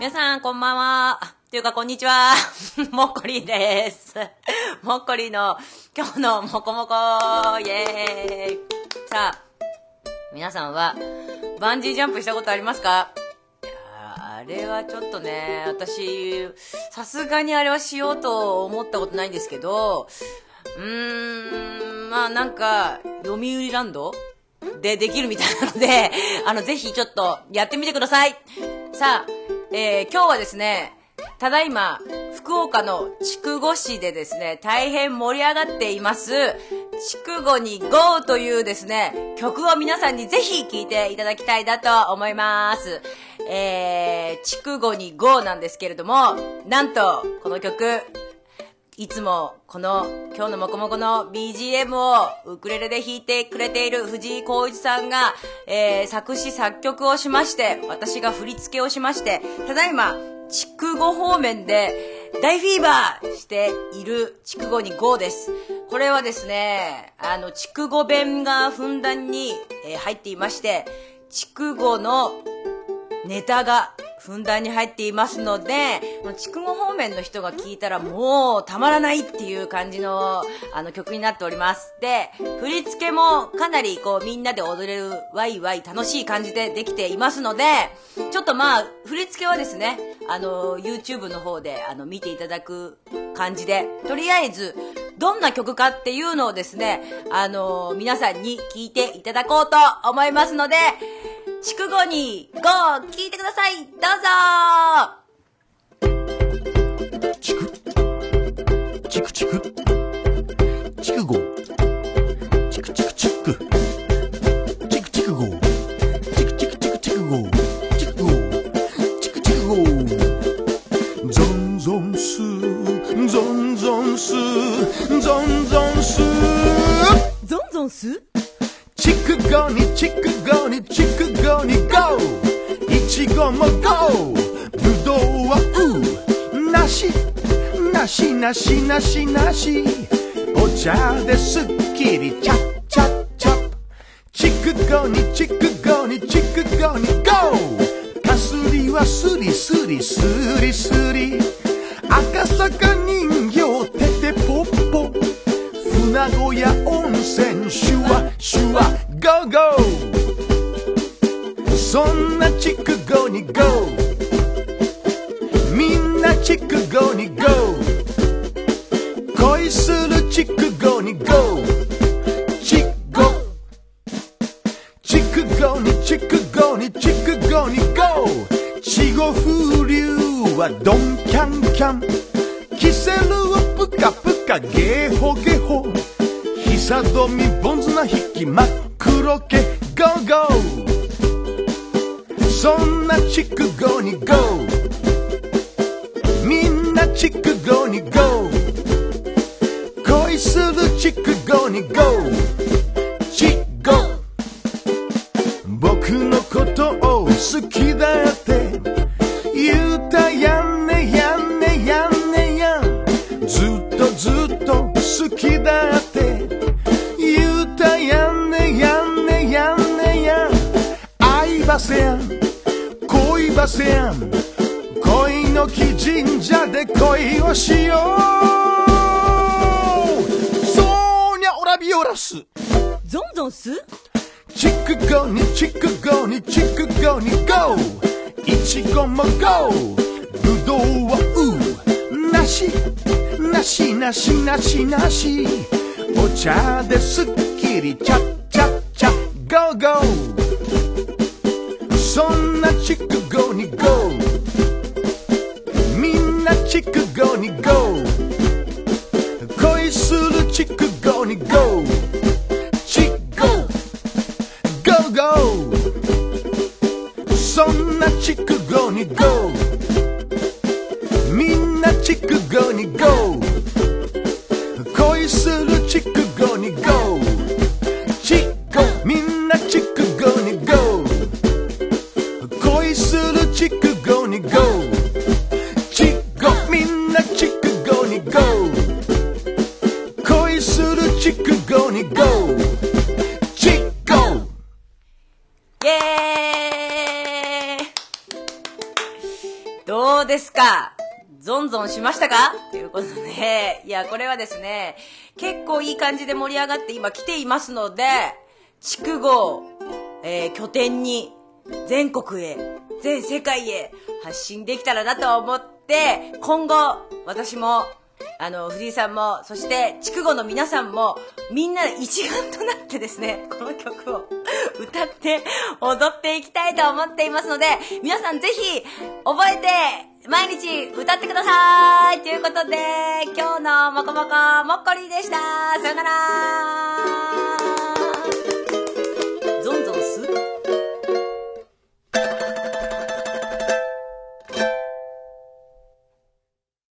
皆さんこんばんは。というかこんにちは。もっこりです。もっこりの今日のもこもこイエーイ。さあ、皆さんはバンジージャンプしたことありますか？あれはちょっとね、私さすがにあれはしようと思ったことないんですけど、まあなんか読売ランドでできるみたいなので、ぜひちょっとやってみてください。さあ、今日はですね、ただいま福岡の筑後市でですね、大変盛り上がっています筑後に GO というですね、曲を皆さんにぜひ聴いていただきたいなと思います。筑後に GO なんですけれども、なんとこの曲、いつもこの今日のもこもこの BGM をウクレレで弾いてくれている藤井浩一さんが、作詞作曲をしまして、私が振り付けをしまして、ただいま筑後方面で大フィーバーしている筑後に GO です。これはですね、筑後弁がふんだんに、入っていまして、筑後のネタがふんだんに入っていますので、筑後方面の人が聞いたらもうたまらないっていう感じの曲になっております。で、振り付けもかなりこうみんなで踊れるワイワイ楽しい感じでできていますので、ちょっとまあ振り付けはですね、YouTube の方で見ていただく感じで、とりあえずどんな曲かっていうのをですね、皆さんに聞いていただこうと思いますので、筑後に GO 聞いてください。どうぞ。 筑後チクチクチクゴチクチクチクチクチクゴチクチクチクチクゴチクゴチクチクゴゾンゾンスゾンゾンスゾンゾンスゾンゾンス筑後に筑後に筑後に GO いちごも GO ぶどうは梨梨梨梨梨お茶ですっきりチャッチャッチャッ筑後に筑後に筑後に GO かすりはスリスリスリスリ赤坂人形ててぽっぽ船小屋温泉シュワシュワゴーゴーそんな筑後に GO みんな筑後に GO 恋する筑後に GO 筑後筑後に筑後に筑後に GO 稚語風流はドンキャンキャンキセルをプカプカゲホゲホ久富ボンズの引き真っ黒けゴーゴーそんな筑後に GO みんな筑後に GO 恋する筑後に GO 筑後僕のことを好きだって言うたやんねやんねやんねやんずっとずっと好きだって言うたやんねやんねやんねやん愛ばせやん恋ばせやん恋の木神社で恋をしようそうにゃオラビオラスゾンゾンス筑後に筑後に筑後に GO いちごも GO ぶどうは梨梨梨梨梨お茶ですっきりチャッチャッチャッゴーゴーそんな筑後に GO みんな筑後に GO 恋する筑後に GO 筑後 GO GO そんな筑後に GO みんな筑後に GO 恋する筑後に GO 筑後みんな筑後に GO 恋する筑後に GO 筑後みんな筑後に GO 恋する筑後に GO 筑後イエーイ。どですか？ゾンゾンしましたか？ということで、いや、これはですね、結構いい感じで盛り上がって今来ていますので、筑後、拠点に全国へ、全世界へ発信できたらなと思って、今後、私も、藤井さんも、そして筑後の皆さんも、みんな一丸となってですね、この曲を歌って踊っていきたいと思っていますので、皆さんぜひ覚えて毎日歌ってくださいということで、今日のもこもこもっこりでした。さよなら。